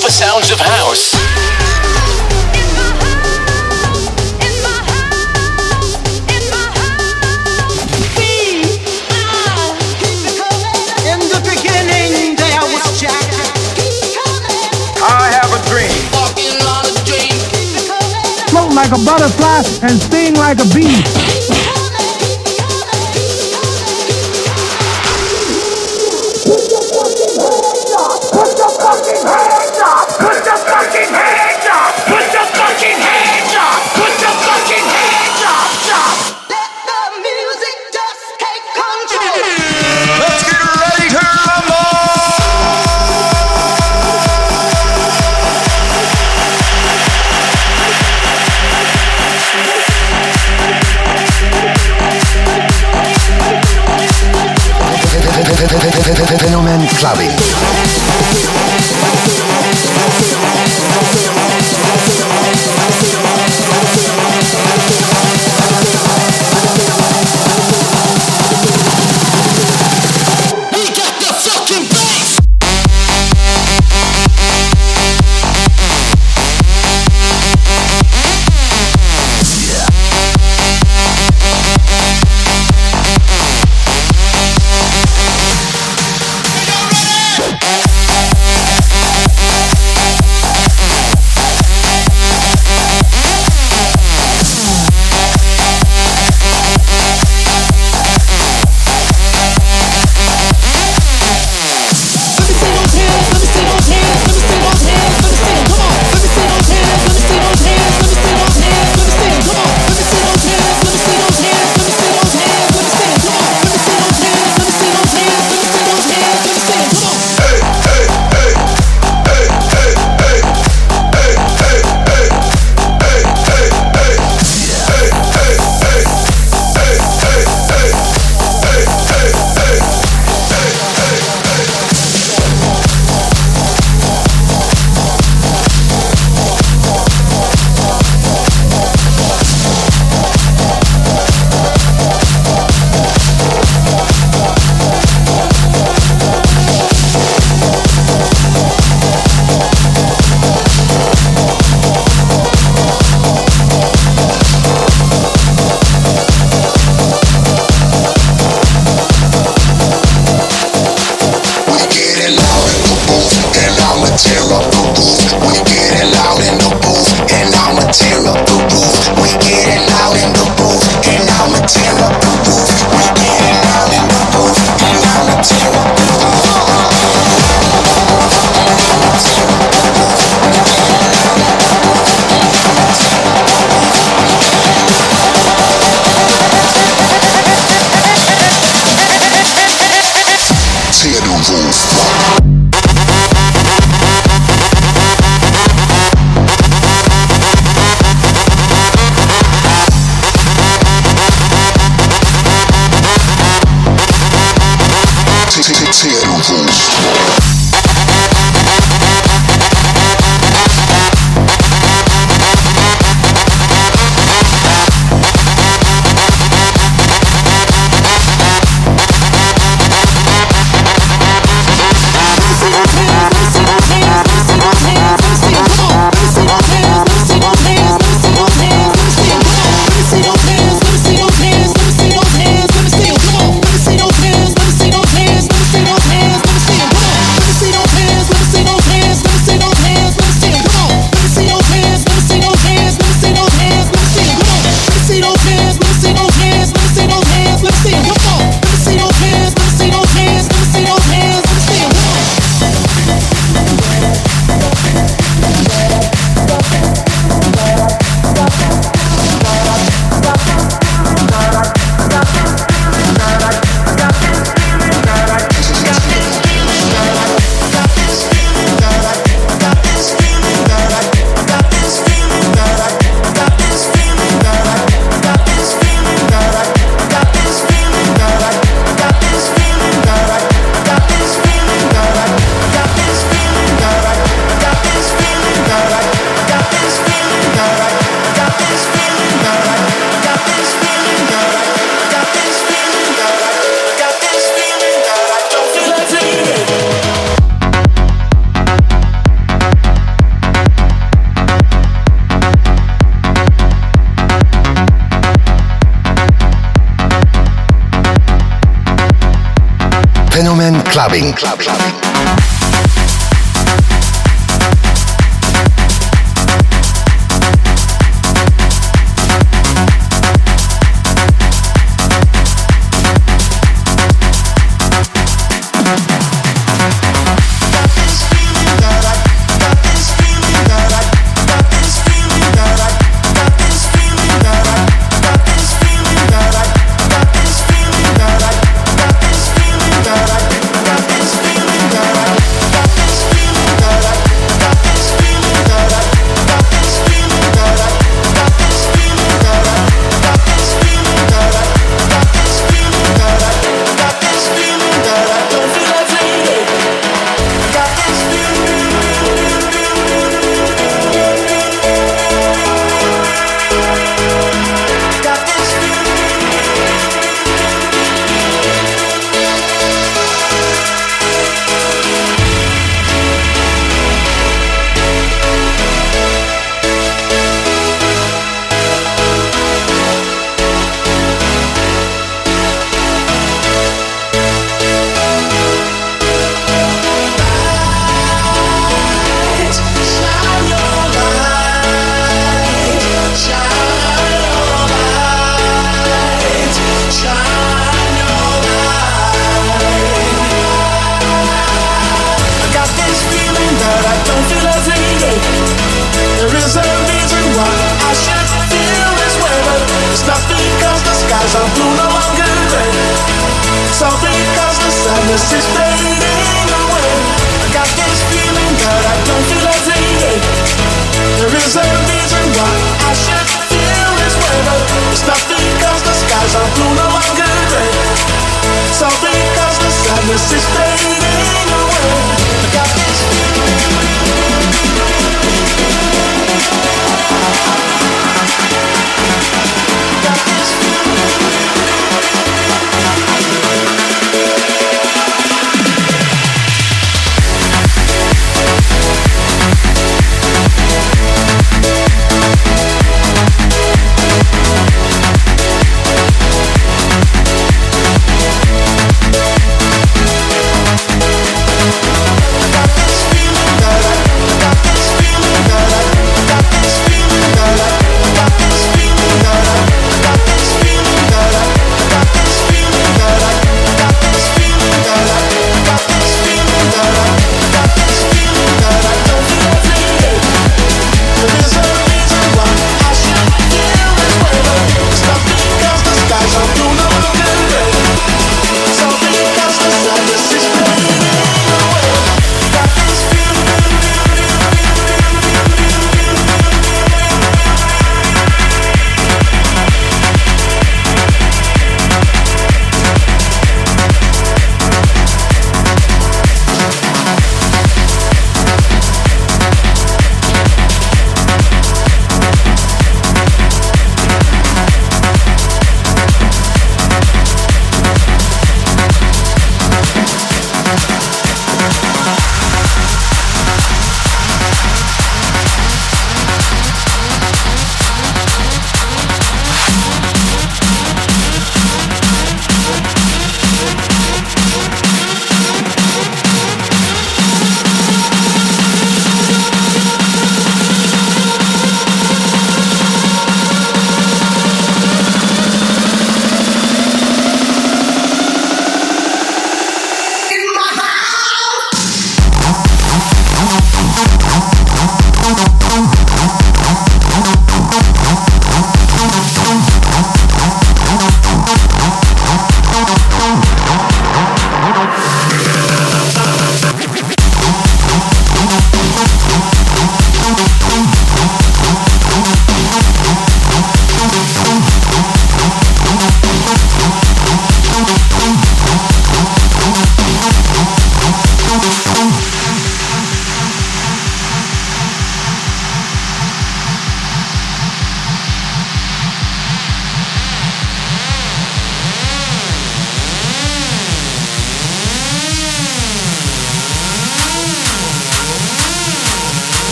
super sounds of house. Float like a butterfly and sting like a bee. Fenomen Clubbing. Clubbing.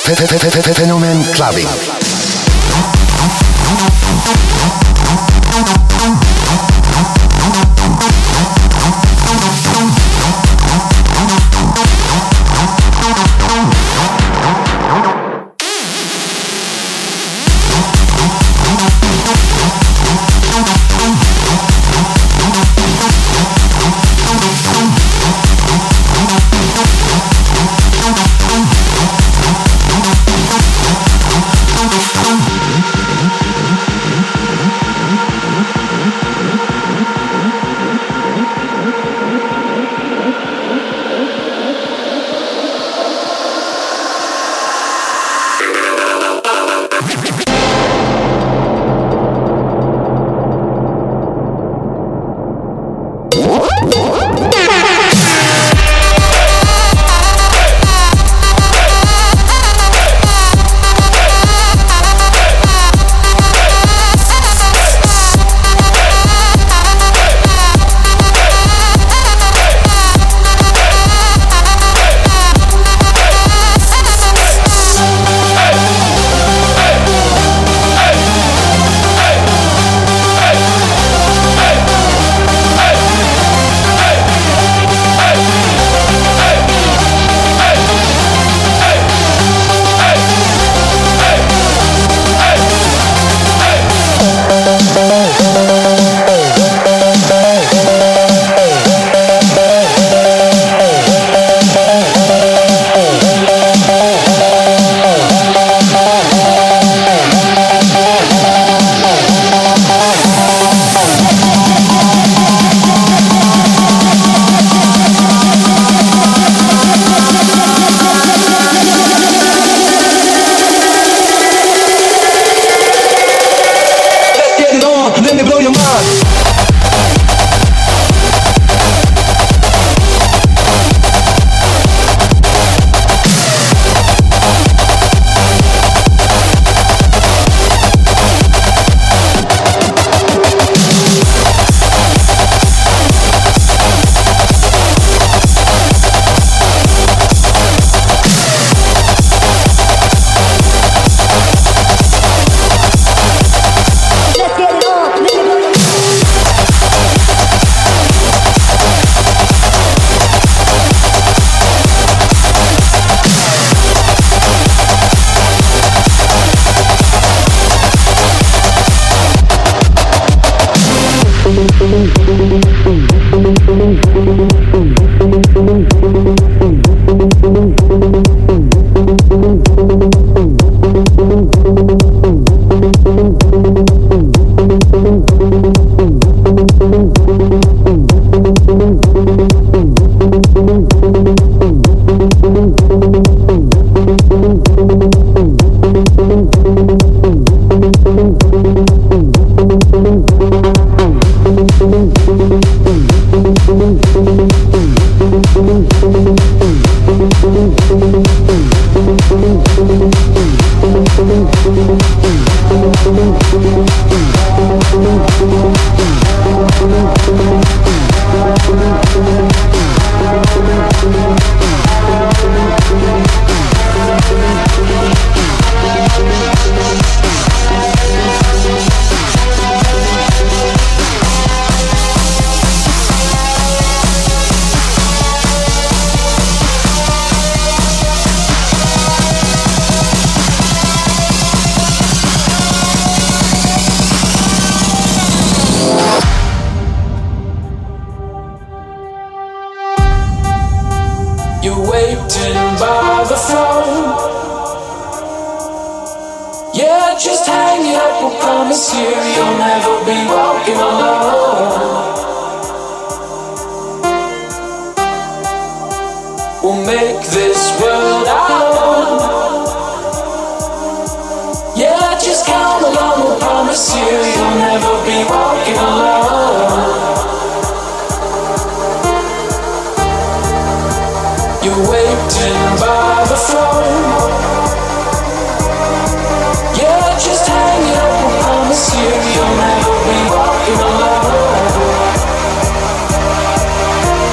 Fenomen Clubbing.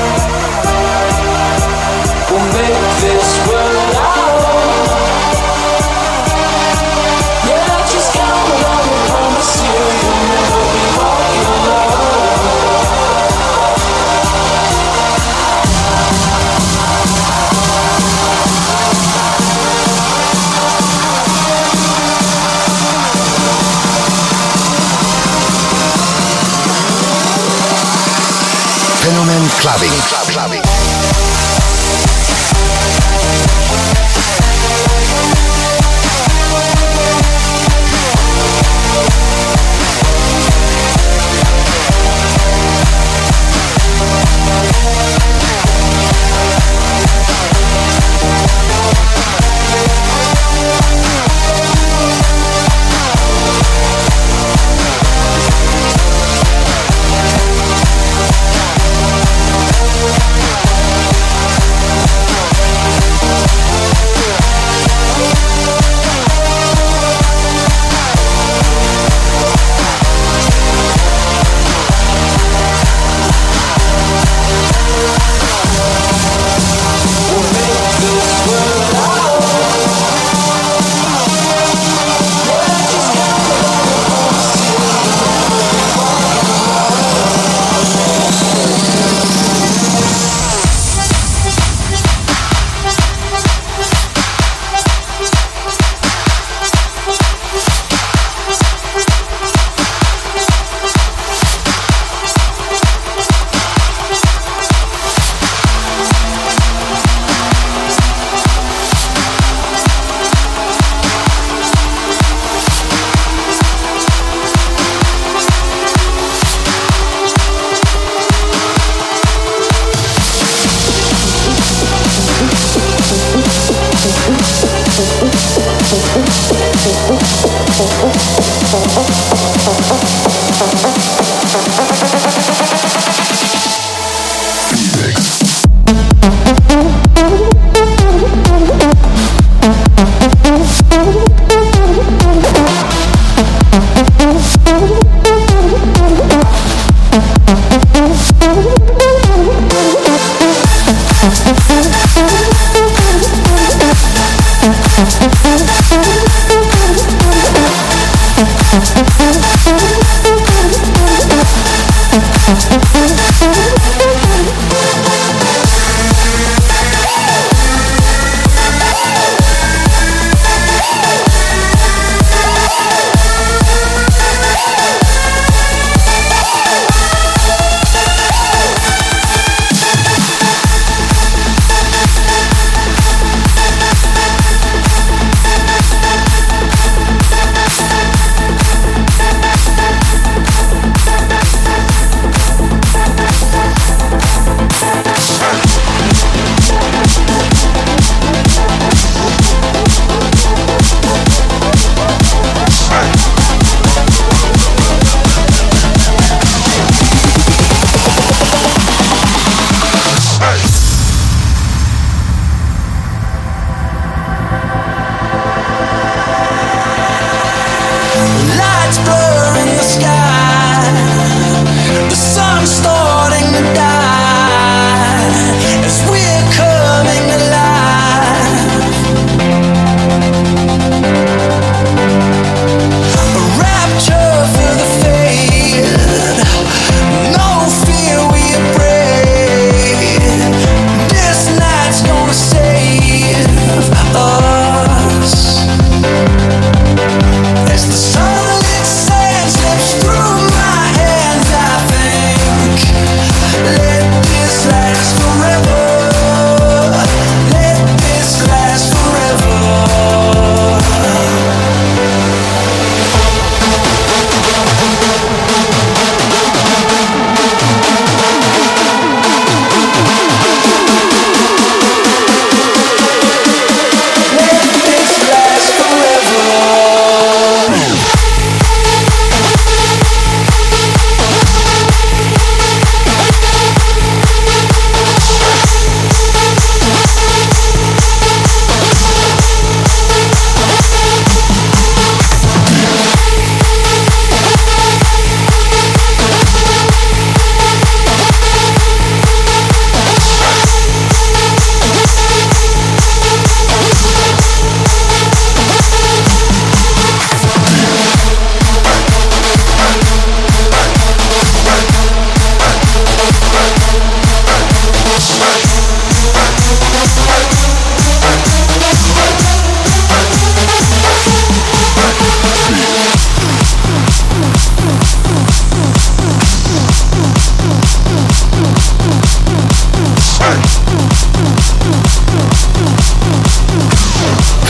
We'll make this world our own. Clubbing.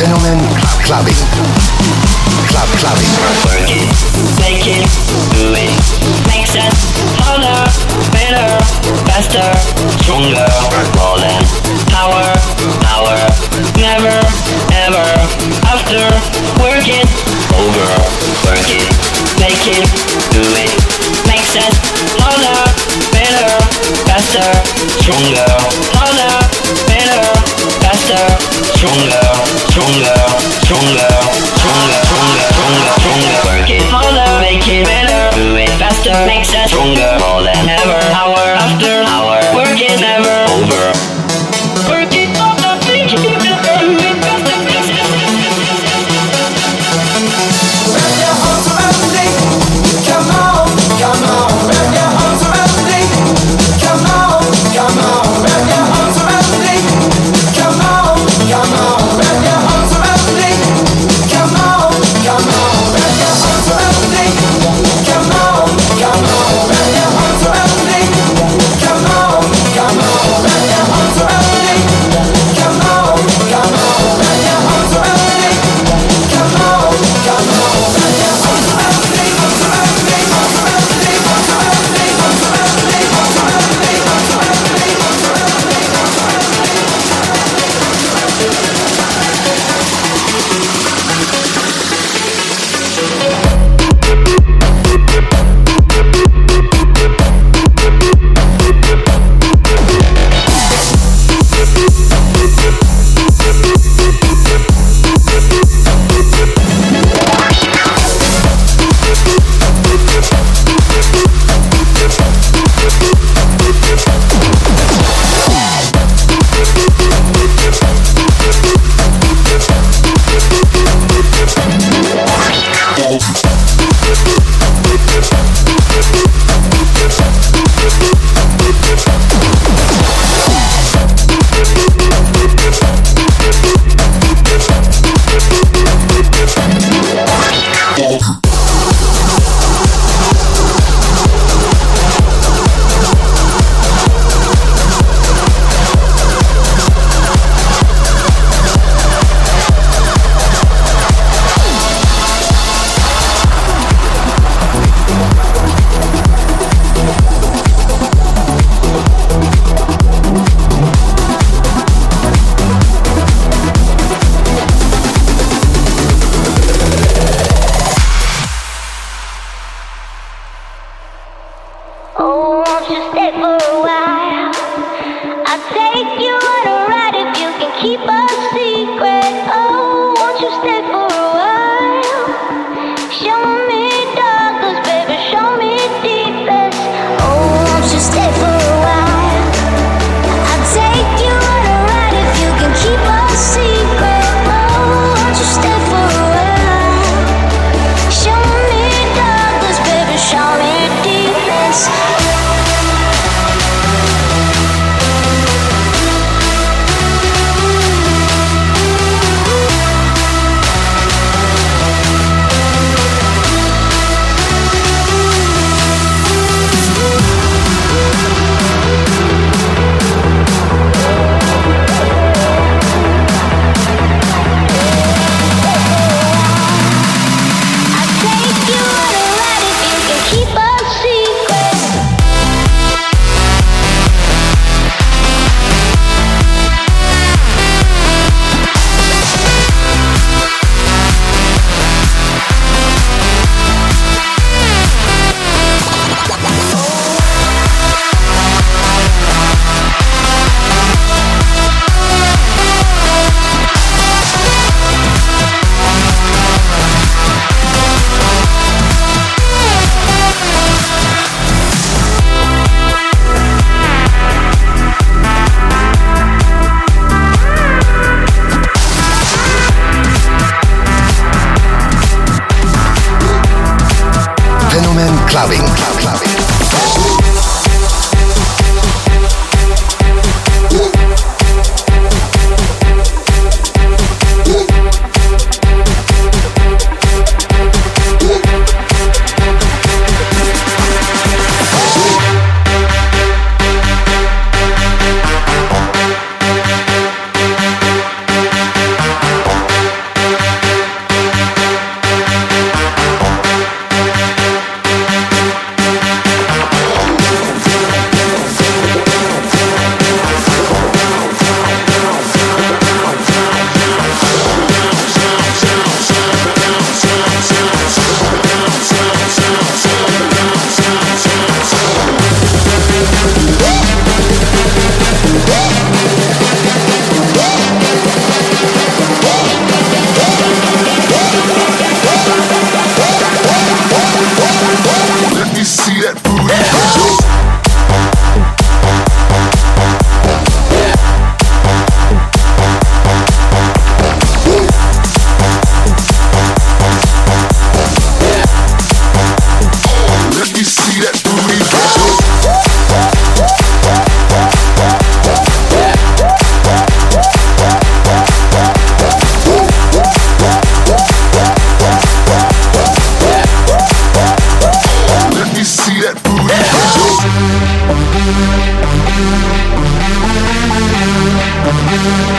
Fenomen Clubbing. Clubbing. Work it, make it, do it. Makes us harder, better, faster, stronger. More than power. Never, ever, after. Work it, over. Work it, make it, do it. Makes us harder, better, faster, stronger. Harder, better, faster, stronger. Work it harder, make it better, do it faster, makes us stronger. More than ever, hour after hour, work it never over. Work it harder, make it better, do it faster, makes us wrap your arms around me, come on, wrap your arms around me, come on, wrap your arms around me, come on, wrap your arms around me, come on, wrap your arms around me, come on, wrap your arms around me, come on, wrap your arms around me, come on, wrap your arms around me, come on, wrap your arms around me, Clubbing.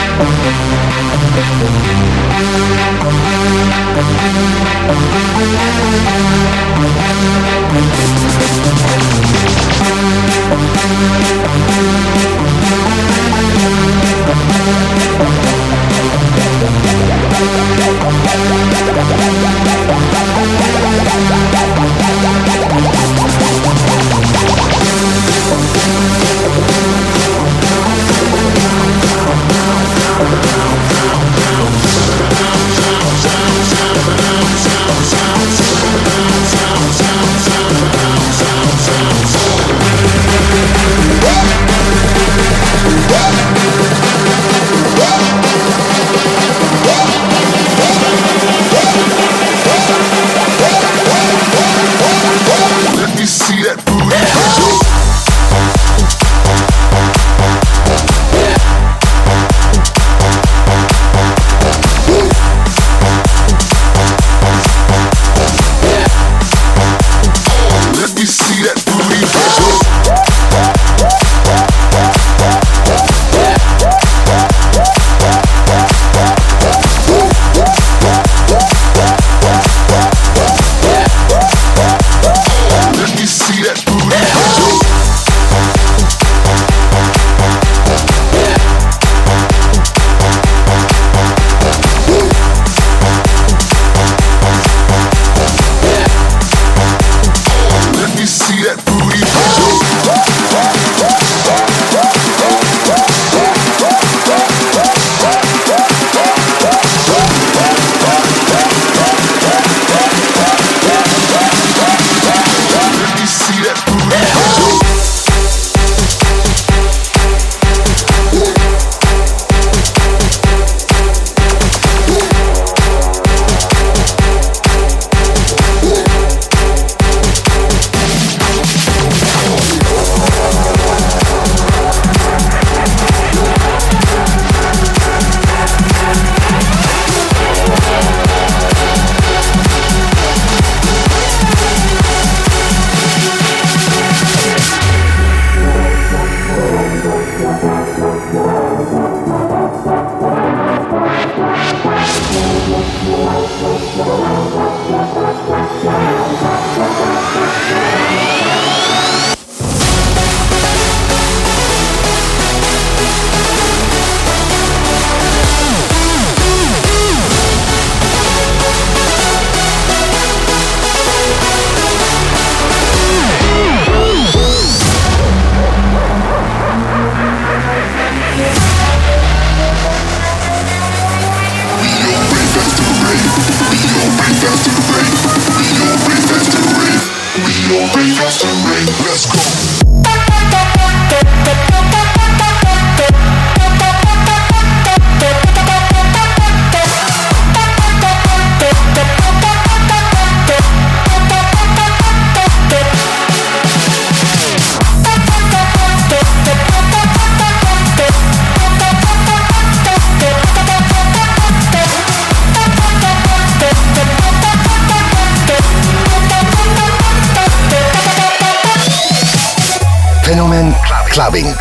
Fenomen Clubbing.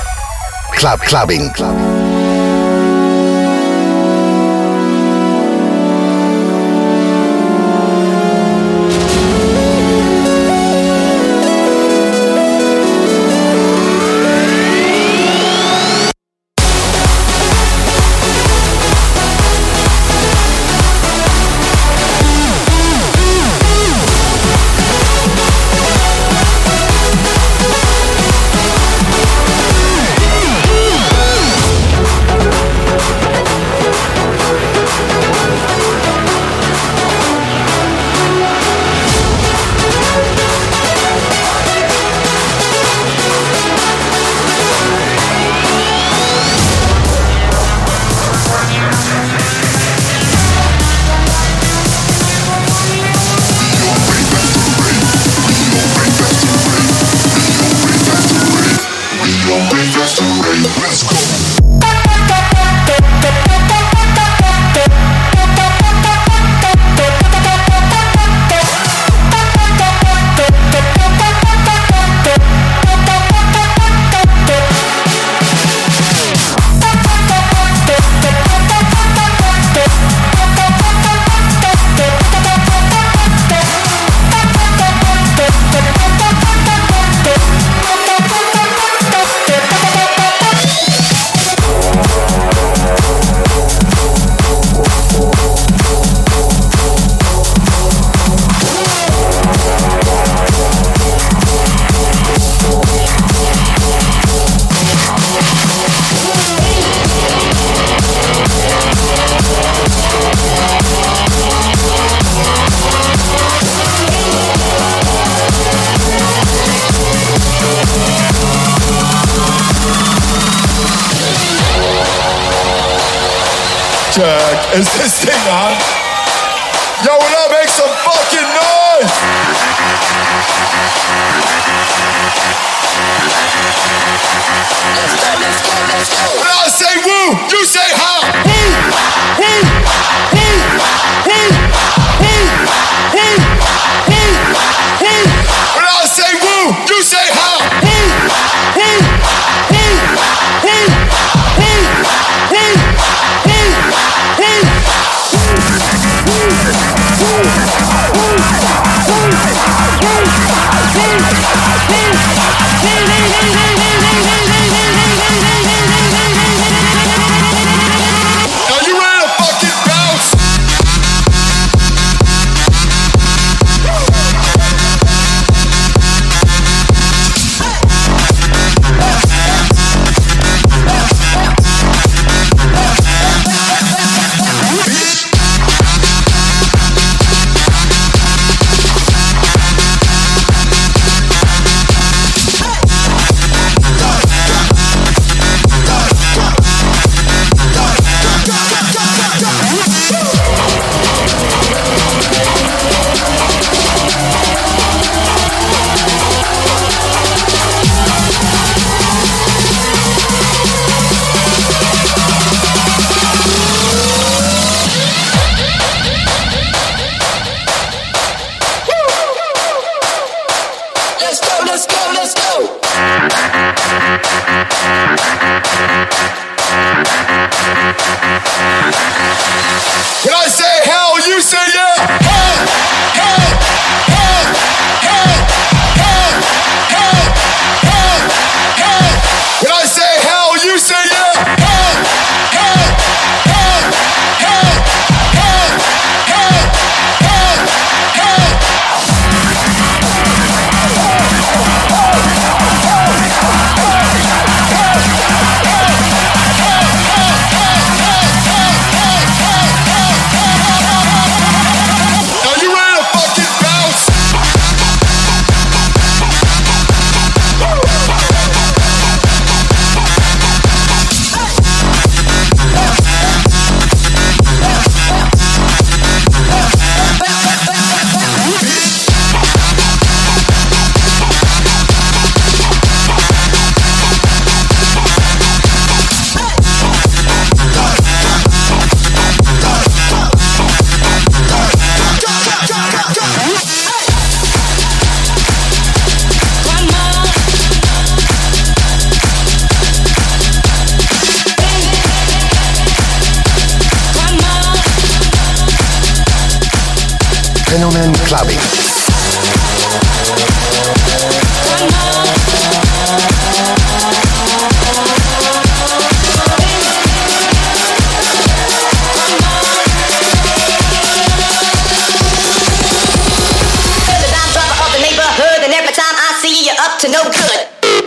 Clubbing. Check. Is this thing on? Yo, will I make some fucking noise? Let's go. When I say woo, you say how. When I say woo, you say how. Are you ready to fucking bounce? Let's go. When I say hell, you say yeah. Hell, hell, hell, hell, hell, hell, hell, hell. When I say hell, you say yeah. Hell, hell, hell, hell, hell, hell, hell, hell. Are you ready to fucking bounce? Fenomen Clubbing. To no good.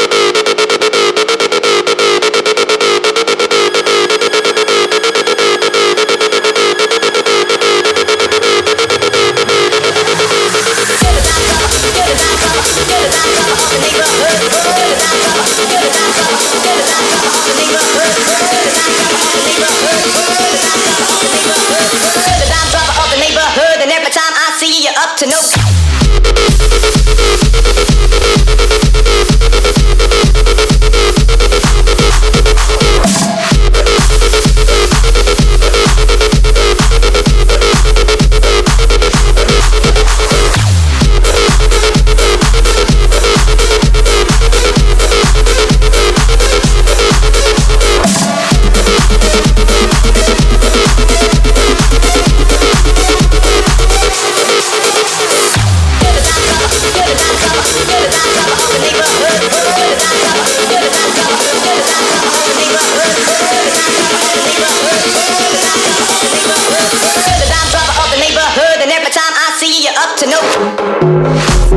To no to no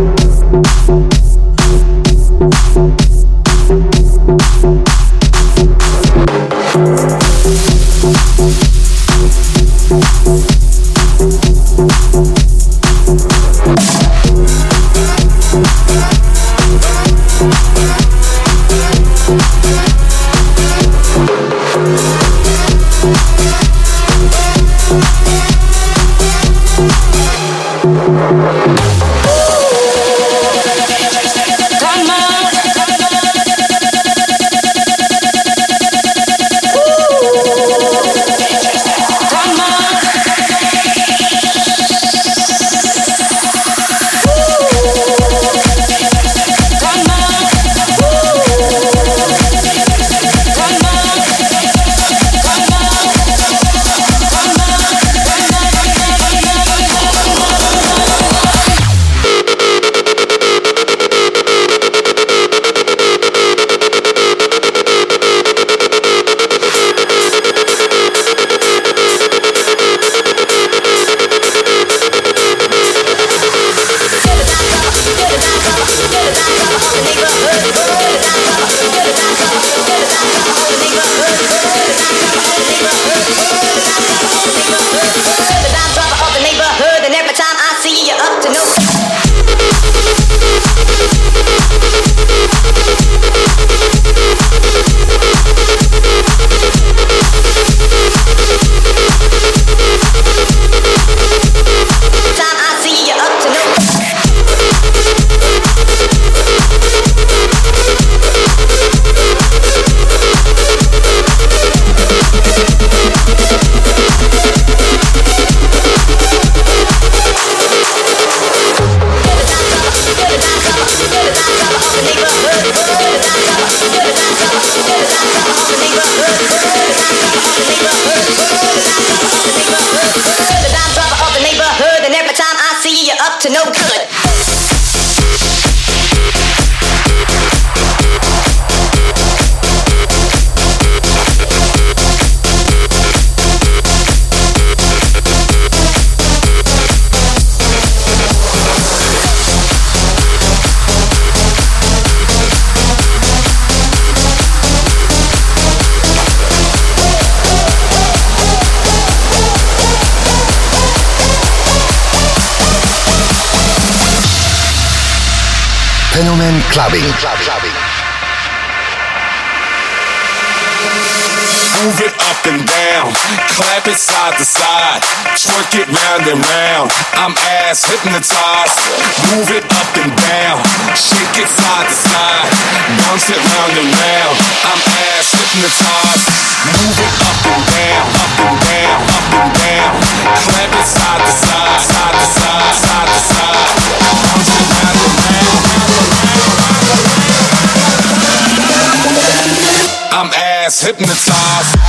clubbing. Move it up and down, clap it side to side, twerk it round and round. I'm ass hypnotized. Move it up and down, shake it side to side, bounce it round and round. I'm ass hypnotized. Move it up and down, up and down, up and down. Clap it side to side, side to side, side to side, bounce it round and round. I'm ass hypnotized.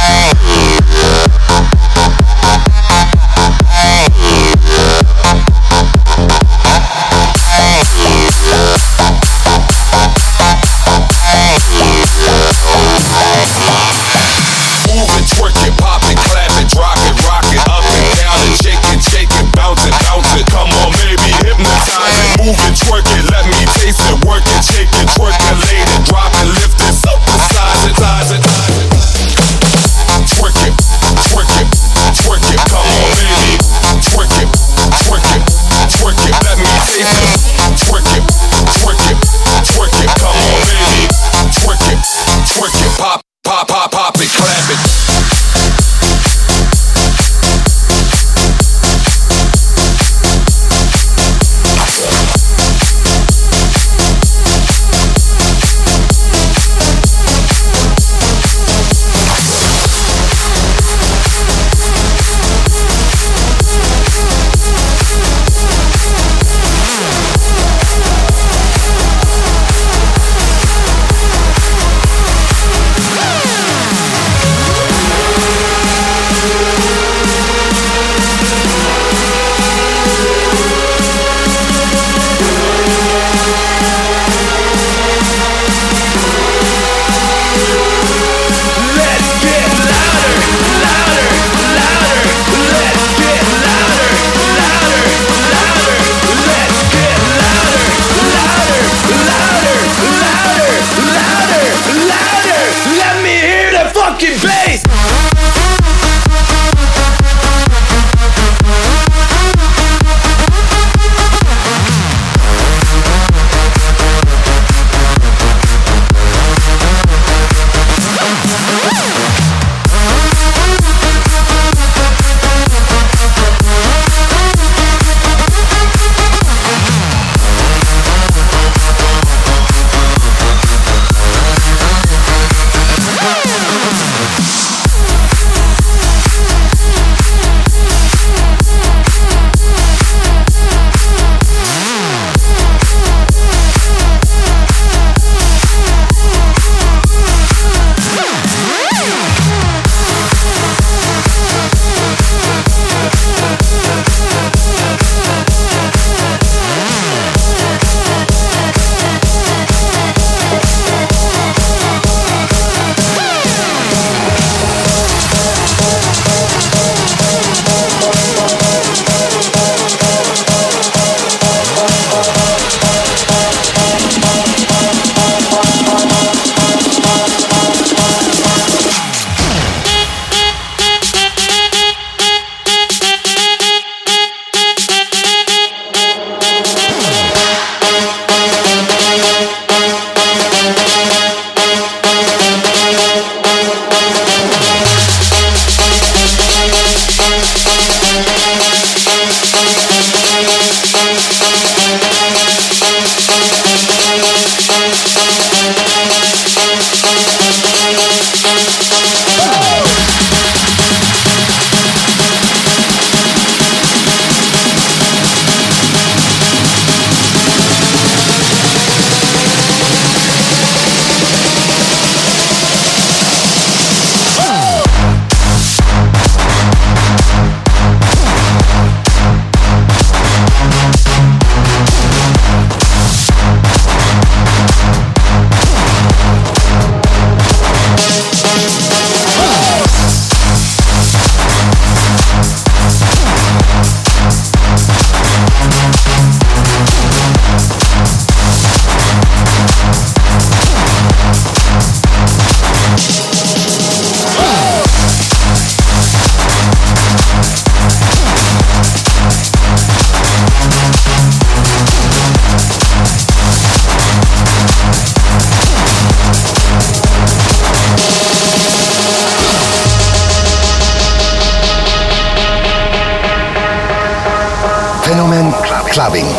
clubbing.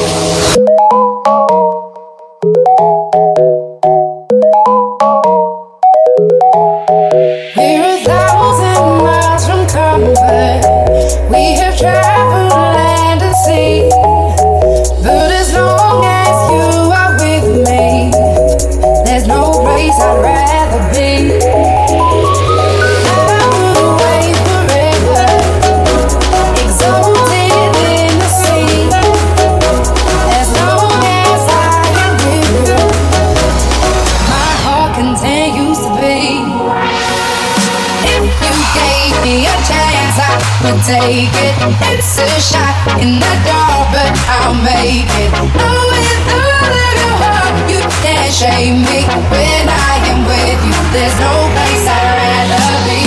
We're 1,000 miles from comfort. We have traveled land and sea. But as long as you are with me, there's no place I'd rather be. I would away forever, exalted in the sea. As long as I am with you, my heart continues to beat. If you gave me a chance, I would take it. It's a shot in the dark, but I'll make it. Oh, with all of your heart, you can't shame me. When I am with you, there's no place I'd rather be.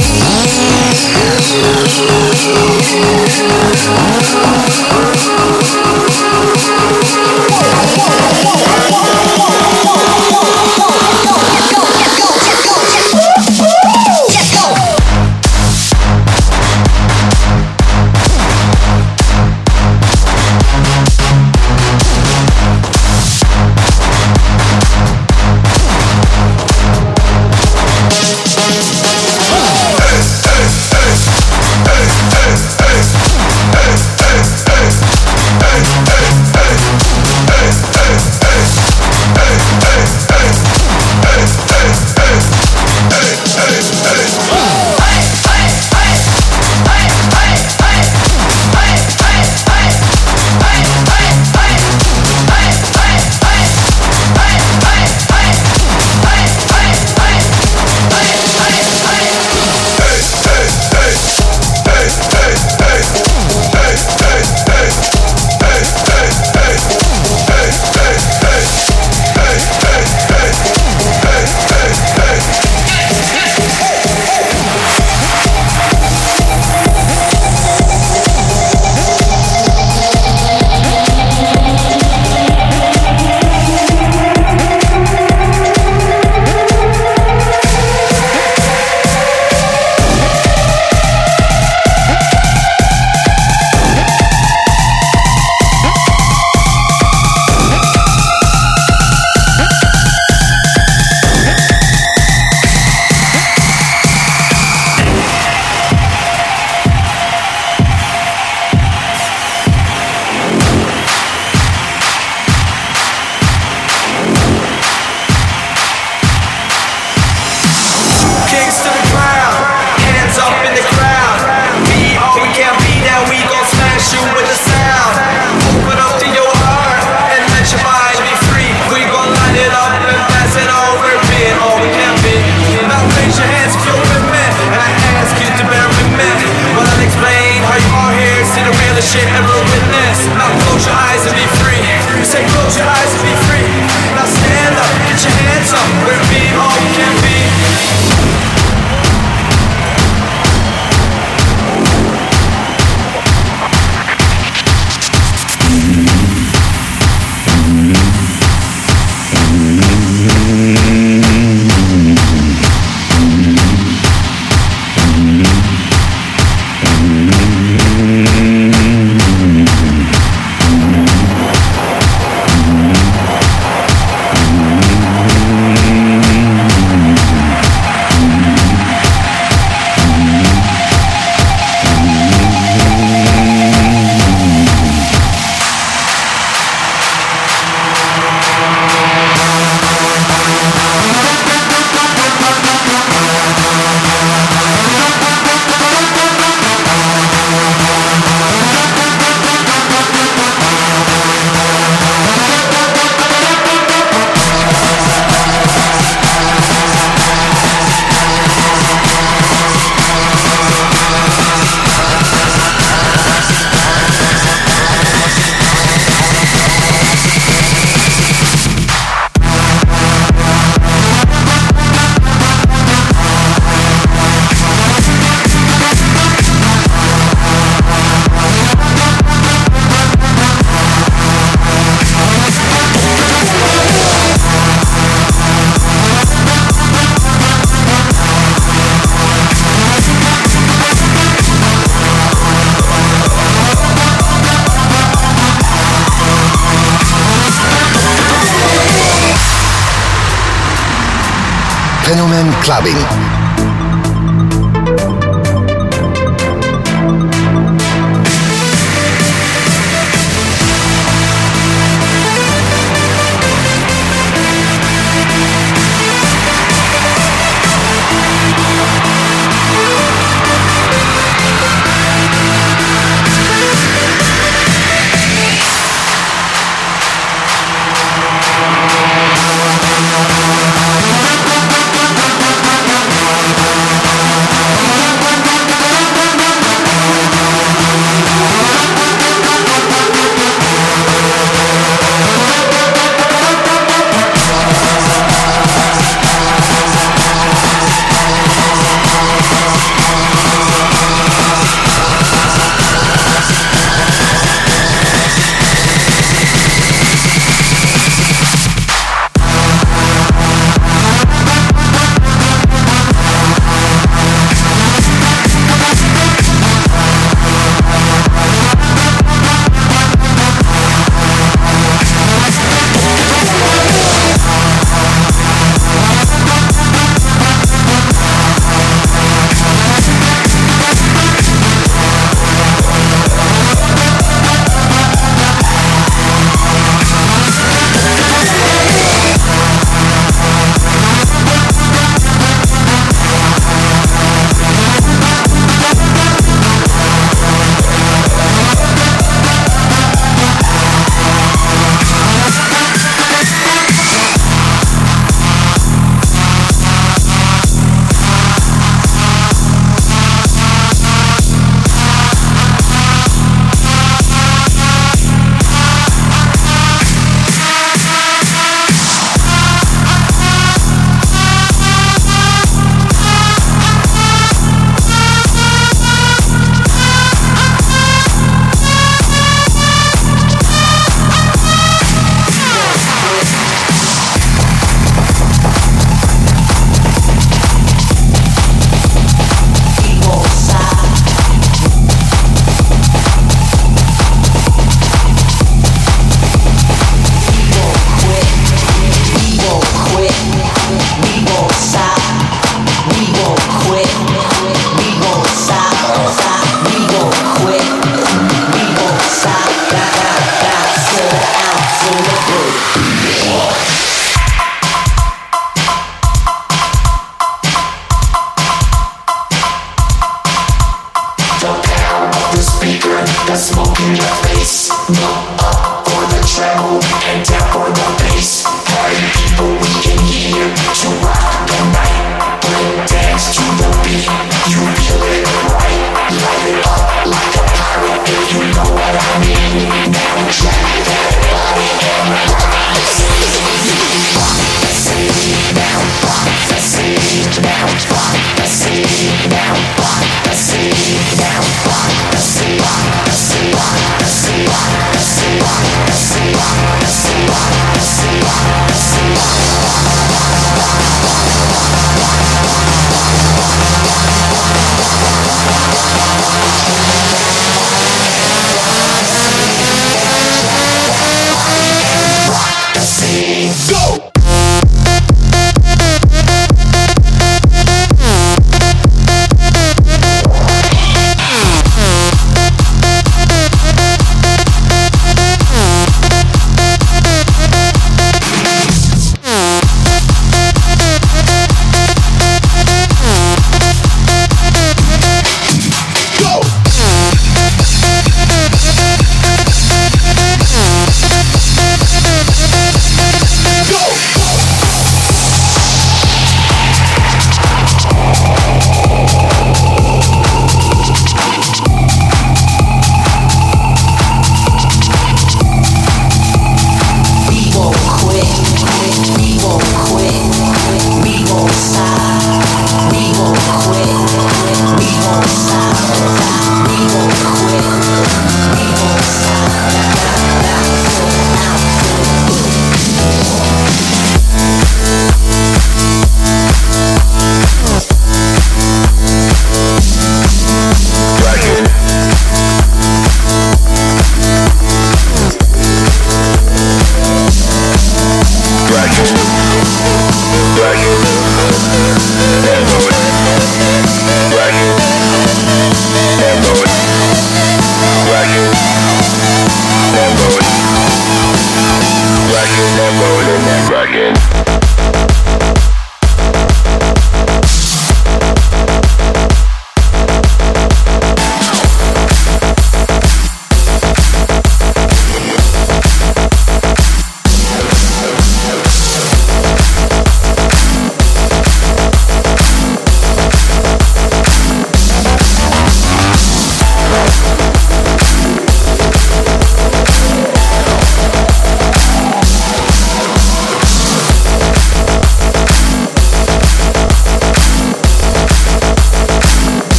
clubbing.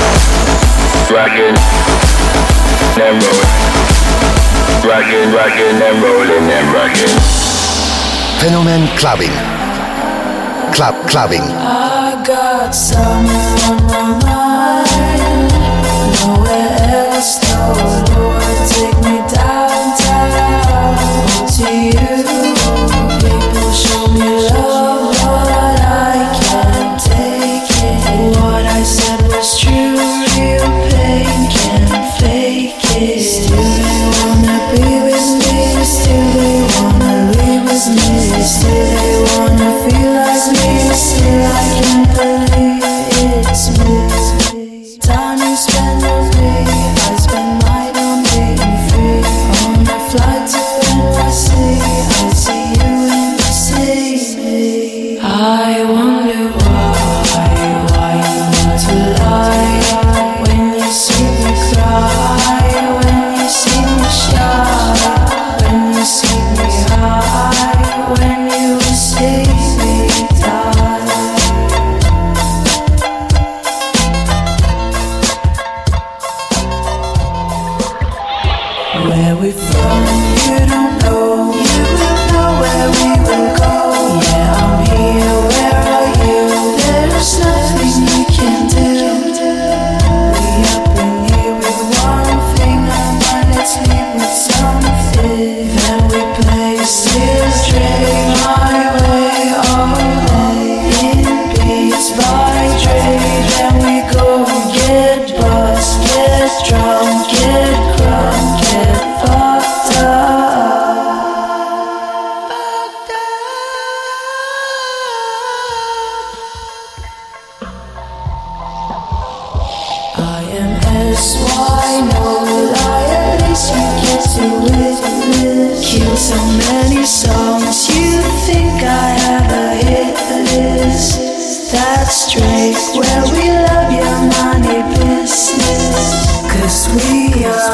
rockin' and rollin', rockin' and rollin' and rockin'. Fenomen Clubbing. Clubbing. I got something on my mind. Nowhere else, no Lord, take me downtown to you. People show me love, but I can't take it. What I said was true, real pain can't fake it. Still they wanna be with me, still they wanna live with me, still they wanna feel like me, still I can't believe it's me. Time you spend with me, I spend mine on being free. On the flight to NYC, I see you in the sea. I wonder why you need to lie. When you see me cry, when you see me shy, when you see me high, when you see me die. Where we from, you don't know. You will know where we will go. Yeah, I'm here, where are you? There's nothing you can do. We up in here with one thing, let's leave with something. Then we play still straight my way all day. In beats by Dre, then we go get buzzed, get drunk, get crunk, get fucked up. I am SY, no lie, at least you get to witness. Killed so many songs, you think I have a hit list. That's straight, where we love your money business. 'Cause we are